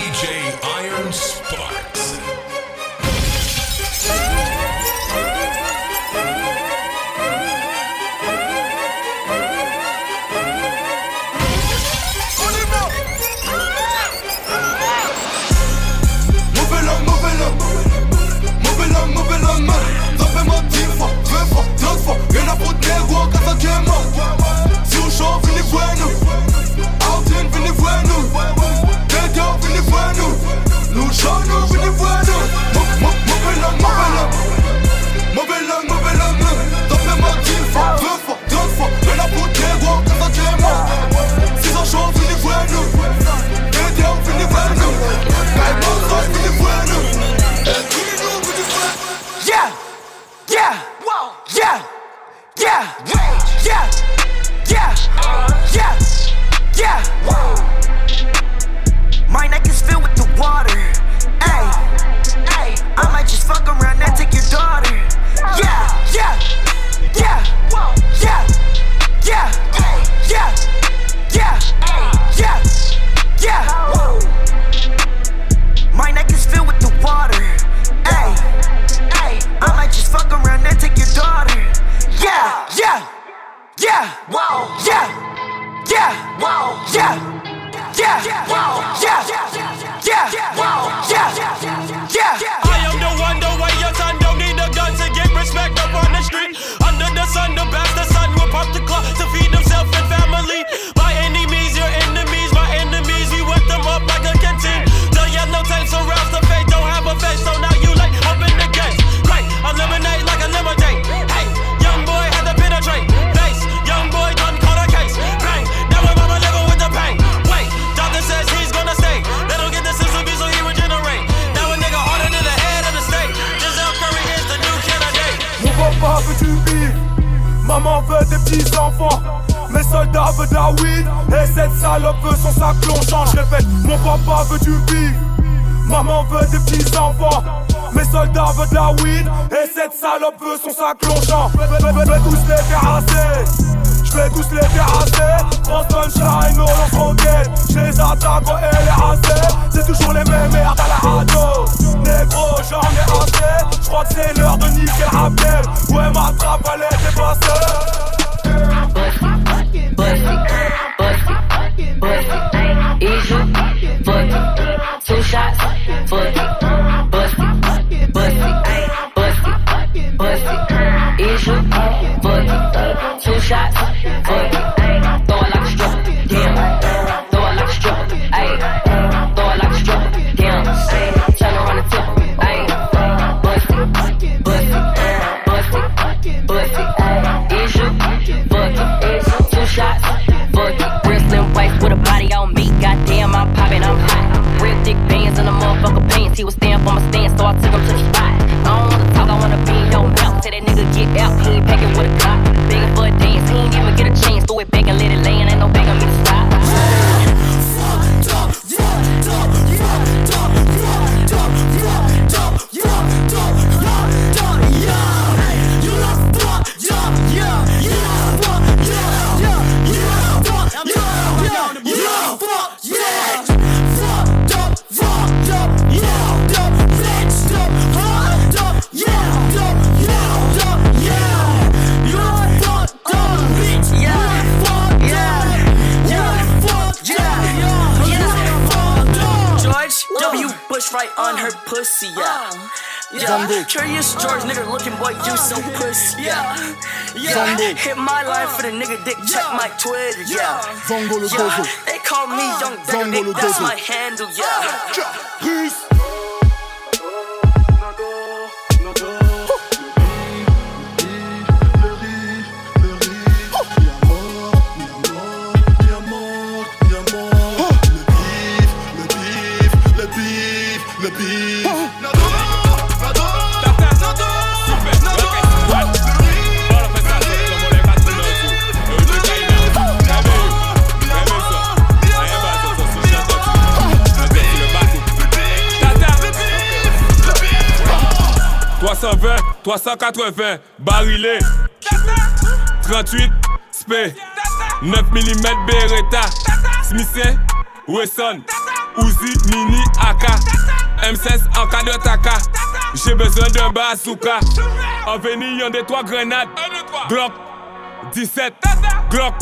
DJ Iron Sparks. Rien à foutre négro, casa qui est mort. Si on chauffe, venez voir nous. Altin, venez voir nous. Dédé, venez voir nous. Nous chantons, venez voir nous. Mauvais langue. T'en fais ma 10 fois, 2 fois, 2 fois. Rien à foutre négro, casa qui est mort. Si on chauffe, venez voir nous. Dédé, venez voir nous. Venez voir nous. Yeah! Yeah! Yeah! Yeah! Yeah! Yeah! Yeah! Yeah! My neck is filled with the water. Ay, ay, I might just fuck around and take your daughter. Yeah! Yeah! Yeah! Yeah! Yeah! Yeah! Yeah! Yeah! Yeah! My neck is filled with the water. Ay, ay, I might just fuck around and take your daughter. Yeah, yeah, yeah, wow, yeah, yeah, wow, yeah, yeah, wow, yeah, yeah, wow, yeah. I am the one, the way your son don't need a gun to get respect up on the street. Under the sun, the bastard son will pop the clock to feed himself and family. By any means, your enemies, my enemies, we wet them up like a canteen. The yellow tape surrounds the fate, don't have a face, so now you like up in the game. Right, eliminate like a lemonade. Hey, young boy had to penetrate. Face, young boy done caught a case. Bang, now my mama living with the pain. Wait, doctor says he's gonna stay. They don't get the system so he regenerate. Now a nigga harder than the head of the state. Giselle Curry is the new candidate. Mon papa veut du bif, maman veut des petits enfants. Mes soldats veulent de la weed, et cette salope veut son sac plongeant. Je répète, mon papa veut du bif, maman veut des petits enfants. Mes soldats veulent de la weed, et cette salope veut son sac plongeant. Je vais tous les terrasser, je vais tous les terrasser. France punchline, on lance roquette. Je les attaque quand elle est assez. C'est toujours les mêmes merdes à la radio. Négro, j'en ai assez. Je crois que c'est l'heure de niquer le rappel. Ouais, ma trappe, elle est dépassée. Bussy, easy, fuck it, 2 shots, fuck it, bussy, easy, fuck it, 2 shots, fuck it, throw it like a stripper, damn, throw it like a stripper, ayy, throw it like a stripper, damn, turn around and tip her, ayy, bussy, easy, fuck it, 2 shots, fuck it, wrestling waist with a body on me, goddamn I'm poppin', I'm hot, real thick bands in the motherfucker pants, he was stand for my stand, so I took him to the spot, I don't wanna talk, I wanna be in your mouth, tell that nigga get out, he ain't packing with a clock, begging for a dance, he ain't even get a chance, throw it back and let it land, ain't no begging me to stop. Right on her pussy, yeah. Yeah, Curious George, nigga looking boy, you so pussy, yeah. Yeah, hit my line for the nigga dick, check my Twitter, yeah. Yeah, they call me Young Digger, that's my handle, yeah. .320, 380, barilé 38, spé 9 mm Beretta Smith & Wesson Uzi, Mini, AK, M16 en cas de taka. J'ai besoin d'un bazooka. En venir, y'en des 3 grenades. Glock 17, Glock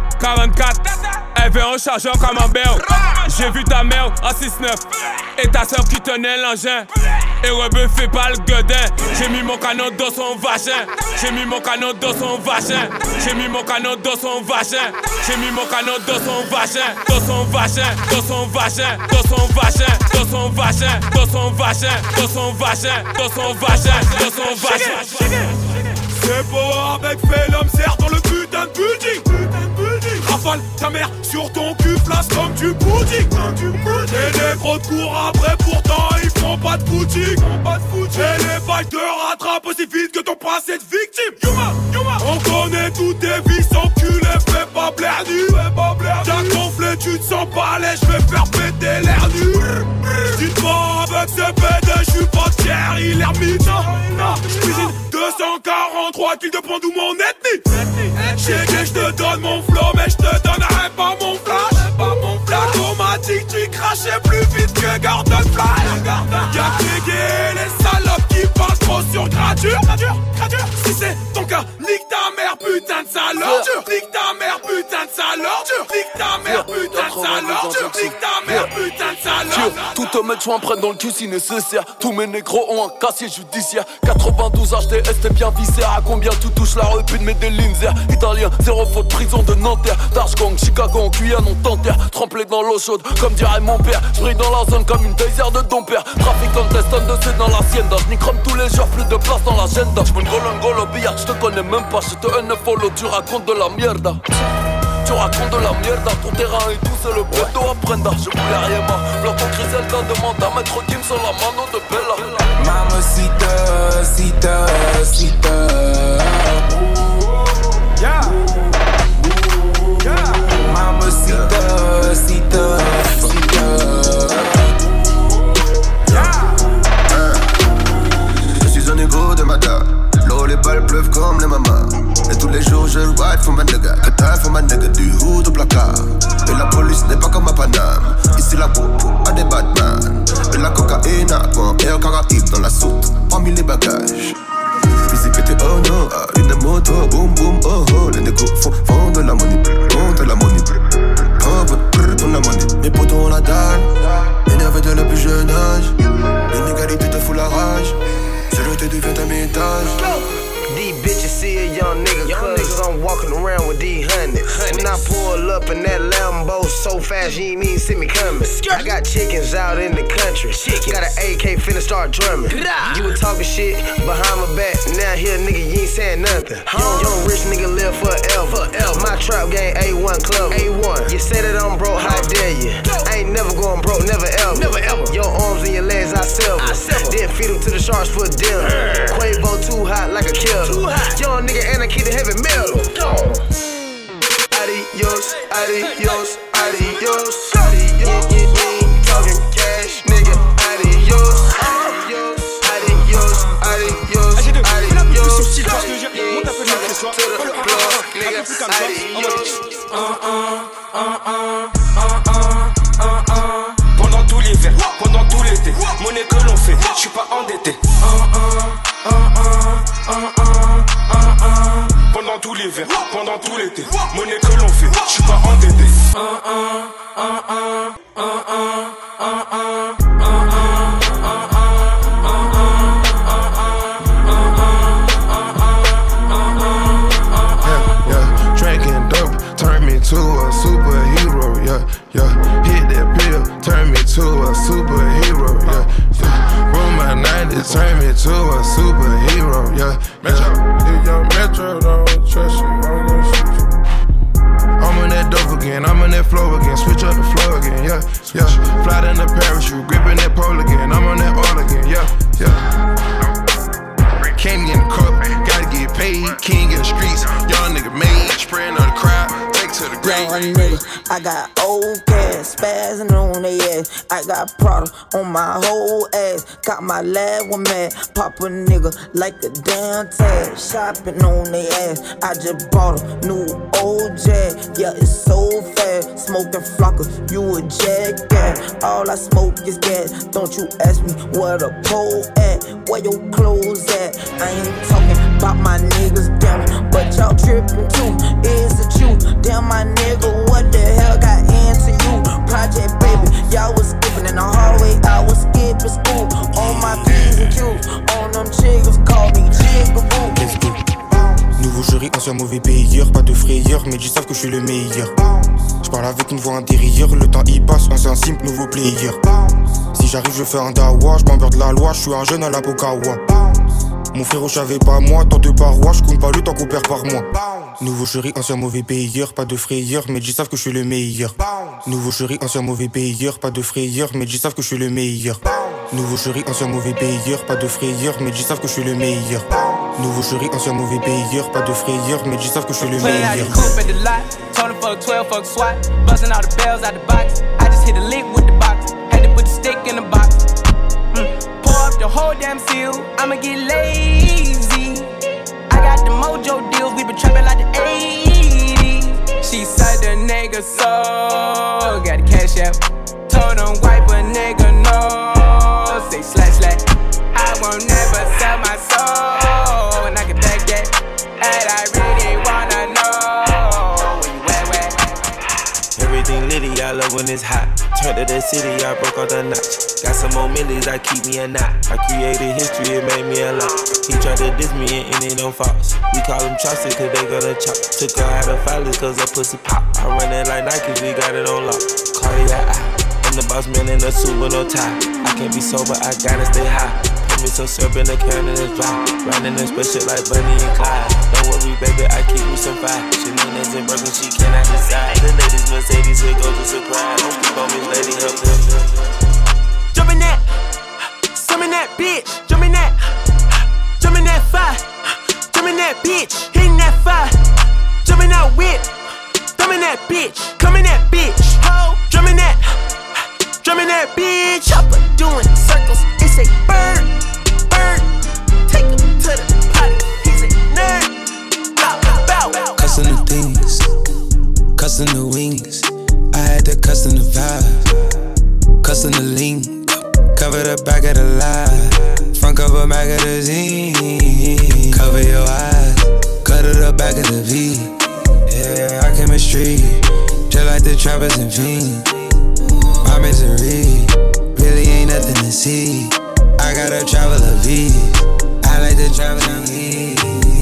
44. Elle veut un chargeur comme un bel. J'ai vu ta mère en 6-9 et ta soeur qui tenait l'engin. Et rebuffé par le gueudin. J'ai mis mon canon dans son vagin. J'ai mis mon canon dans son vagin. J'ai mis mon canon dans son vagin. J'ai mis mon canon dans son vagin. Dans son vagin. Dans son vagin. Dans son vagin. Dans son vagin. Dans son vagin. Dans son vagin. Dans son vagin. Dans son vagin. C'est beau avec fait l'homme serre dans le putain de building. Rafale ta mère sur ton cul, place comme du pudding. Et les gros te courent après, pourtant ils font pas de footing. Et les vaches te rattrapent aussi vite que ton passé de victime. On connaît toutes tes vies, enculé, fais pas blaire nu. T'as gonflé, tu te sens pas laid, j'vais faire péter l'air nu. Dites-moi avec ce PD, j'suis pas tiers, il est ermite. J'cuisine 243 kills de points d'où mon ethnie. Chégué, j'te donne mon flow, mais j'te donnerai pas mon flash. Automatique, tu crachais plus vite que Gordon Flash. Y'a que les salopes qui parlent trop sur gradure. Si c'est ton cas, nique ta mère, putain de salope. Nique ta mère, putain de salope. Nique ta mère, putain de salope. Nique ta mère, putain de salope. Tout te mettre, j'm'en prenne dans le cul si nécessaire. Tous mes négros ont un casier judiciaire. 92 HTS, t'es bien vissé. À combien tu touches la repute, mais des Linzer. Italien, 0 faute, prison de Nanterre. Darchgang, Chicago, en Guyane, on t'enterre. Trempé dans l'eau chaude, comme dirait mon père. J'brille dans la zone comme une taser de ton père. Trafic contestant de C dans la sienda. J'nicrome tous les jours, plus de place dans l'agenda. J'm'en gol au billard, j'te connais même pas. J'te unfollow, tu racontes de la mierda. Tu racontes de la mierda, ton terrain et tout, c'est le poteau à prendre. Je voulais rien, ma blanc ton Griselda demande à mettre Kim sur la mano de Bella. Mamacita, cita, cita. Yeah. Mamacita, cita, cita. Je suis un égo de Mada. L'eau, les balles pleuvent comme les mamas. Et tous les jours je ride for ma nigga. Qatar for ma nigga, du hood au placard. Et la police n'est pas comme à Paname. Ici la popo a des Batman. Et la cocaïne à coin et un Caraïbe dans la soute. Parmi les bagages. Busy pété oh no, une moto, boum boum oh oh. Les négos font de la money, font de la money. Oh pour la money. Mes potos ont la dalle, énervé de le plus jeune âge. L'inégalité te fout la rage. Zéro devient un étage. These bitches see a young nigga cause I'm walking around with these hundreds. When I pull up in that Lambo so fast you ain't even see me coming. I got chickens out in the country. Got an AK finna start drumming. You were talking shit behind my back. Now here nigga you ain't saying nothing. Young rich nigga live forever. My trap game A1 club. A1. You say that I'm broke, how dare you? I ain't never going broke, never ever. Your arms and your legs I sever. Then feed them to the sharks for dinner. Quavo too hot like a killer. Young nigga and I keep the heavy metal. Adios, adios, adios. Talking cash, nigga. Adios, adios, adios, adios, Pendant tout l'hiver, pendant tout l'été, monnaie que l'on fait, j'suis pas endetté. Pendant tout l'hiver, pendant tout l'été, monnaie que l'on fait, j'suis pas endetté. Drinking dope turned me to a superhero, hit that pill, turned me to a superhero, Roll my 90s, turned me to a superhero, Metro, don't trust you, I'm gonna shoot you. I'm on that dope again, I'm on that flow again, switch up the flow again, Fly in the parachute, gripping that pole again, I'm on that all again, Can't get in the cup, gotta get paid, king in the streets, young nigga made, spraying on the crowd, take to the ground. young nigga. I got old cash, spazzing on they ass. I got Prada on my whole ass. Got my lab one mad, pop a nigga like a damn tag. Shopping on they ass. I just bought a new old Jag. Yeah, it's so fast. Smoking flocker, you a jackass. All I smoke is gas. Don't you ask me where the pole at, where your clothes at. I ain't talking about my niggas, damn, but y'all tripping too. Is it you? Damn, my nigga, what the hell got into you? Project baby, y'all was skipping in the hallway, I was skipping school. On my P's and Q's, on them chiggers, call me Jigaboo. Let's go. Nouveau jury, ancien mauvais payeur, pas de frayeur, mais ils savent que je suis le meilleur. J'parle avec une voix intérieure, le temps y passe, ancien simple, nouveau player. Si j'arrive, je fais un dawa, j'm'emmerde la loi, j'suis un jeune à la Pokawa. Mon frérot, j'avais pas moi, tant de parois, j'compte pas le temps qu'on perd par mois. Nouveau jury, ancien mauvais payeur, pas de frayeur, mais ils savent que je suis le meilleur. Nouveau jury, ancien mauvais payeur, pas de frayeur, mais ils savent que je suis le meilleur. Nouveau jury, ancien mauvais payeur, pas de frayeur, mais ils savent que je suis le meilleur. Nouveau jury, ancien mauvais payeur, pas de frayeur, mais ils savent que je suis le meilleur. Tony fuck 12, fuck SWAT, busting all the bells out the box. I just hit a lick with the box, had to put the stick in the box. Pour up the whole damn seal, I'ma get lazy. I got the mojo deals, we been trapping like the 80s. She said the nigga so, got the cash out. Told him wipe a nigga no, say slash slash. I won't never sell my soul, and I can back that. And I really wanna know where you at. Everything litty, I love when it's hot. Turned to the city, I broke all the notch. Got some more millies, I keep me a knot. I created history, it made me a lot. He tried to diss me and it don't false. We call them chopsticks cause they gonna chop. Took her out of filers cause her pussy pop. I run it like Nike, we got it on lock. Cardiac eye, I'm the boss man in a suit with no tie. I can't be sober, I gotta stay high. Put me some syrup in the can and it's dry. Riding in special like Bunny and Clyde. Don't worry baby, I keep me some fire. She knows and broken, she cannot decide. The ladies Mercedes, here goes a surprise. Don't keep on me, lady, help them. Jumpin' that, summon that bitch. Jumpin' that fire. Jumpin' that bitch, hitting that fire. Jumpin' that whip, thumbin' that bitch. Comin' that bitch, ho. Drummin' that bitch. Chopper doing circles, it's a bird. Take him to the potty, he's a nerd. Bow. Custom the things, custom the wings. I had to custom the vibe, custom the lean. Cover the back of the lie, front cover magazine. Cover your eyes, cut to the back of the V. Yeah, our chemistry, just like the trappers and fiends. My misery, really ain't nothing to see. I gotta travel a V, I like to travel a V.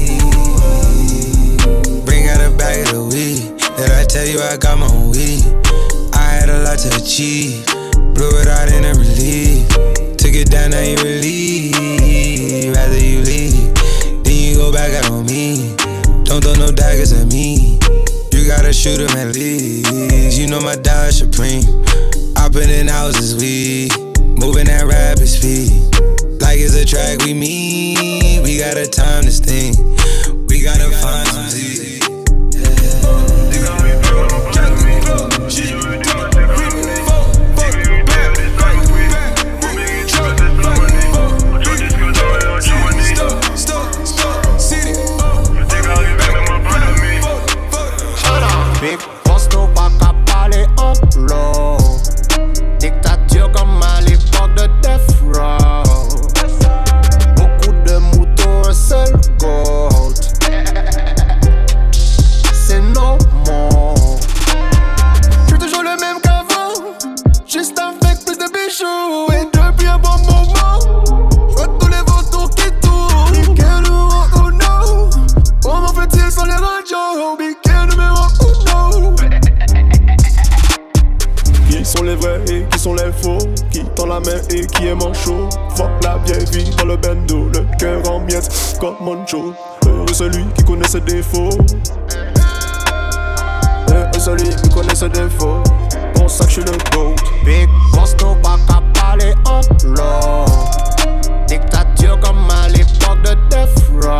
Bring out a bag of the weed, did I tell you I got my own weed? I had a lot to achieve, blew it out in a relief. Took it down, now you relieve. Rather you leave, then you go back out on me. Don't throw no daggers at me, you gotta shoot 'em at least. You know my dollar supreme, hopping in houses, we moving at rapid speed. Like it's a track we meet, we gotta time this thing. We gotta find some Z. Big posto pas qu'à parler en low. Dictature comme à l'époque de Death Row. Beaucoup de moutons, un seul goat. C'est normal. J'suis toujours le même qu'avant, juste avec plus de bijoux. Et depuis un bon moment, j'vois tous les vautours qui tournent. Quel ou non, comment fait-il sans les radios? Qui sont les vrais et qui sont les faux? Qui tend la main et qui est manchot? Fuck la vieille vie dans le bendo, le cœur en miettes comme Moncho. Heureux celui qui connaît ses défauts. Heureux celui qui connaît ses défauts. Pour ça que je suis le GOAT. Big boss, no pas qu'à parler en low. Dictature comme à l'époque de Death Row.